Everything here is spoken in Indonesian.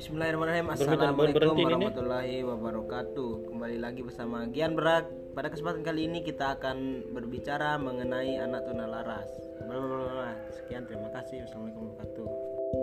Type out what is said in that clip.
Bismillahirrahmanirrahim. Assalamualaikum warahmatullahi wabarakatuh. Kembali lagi bersama Gian Berak. Pada kesempatan kali ini kita akan berbicara mengenai anak tunalaras. Sekian, terima kasih. Wassalamualaikum warahmatullahi wabarakatuh.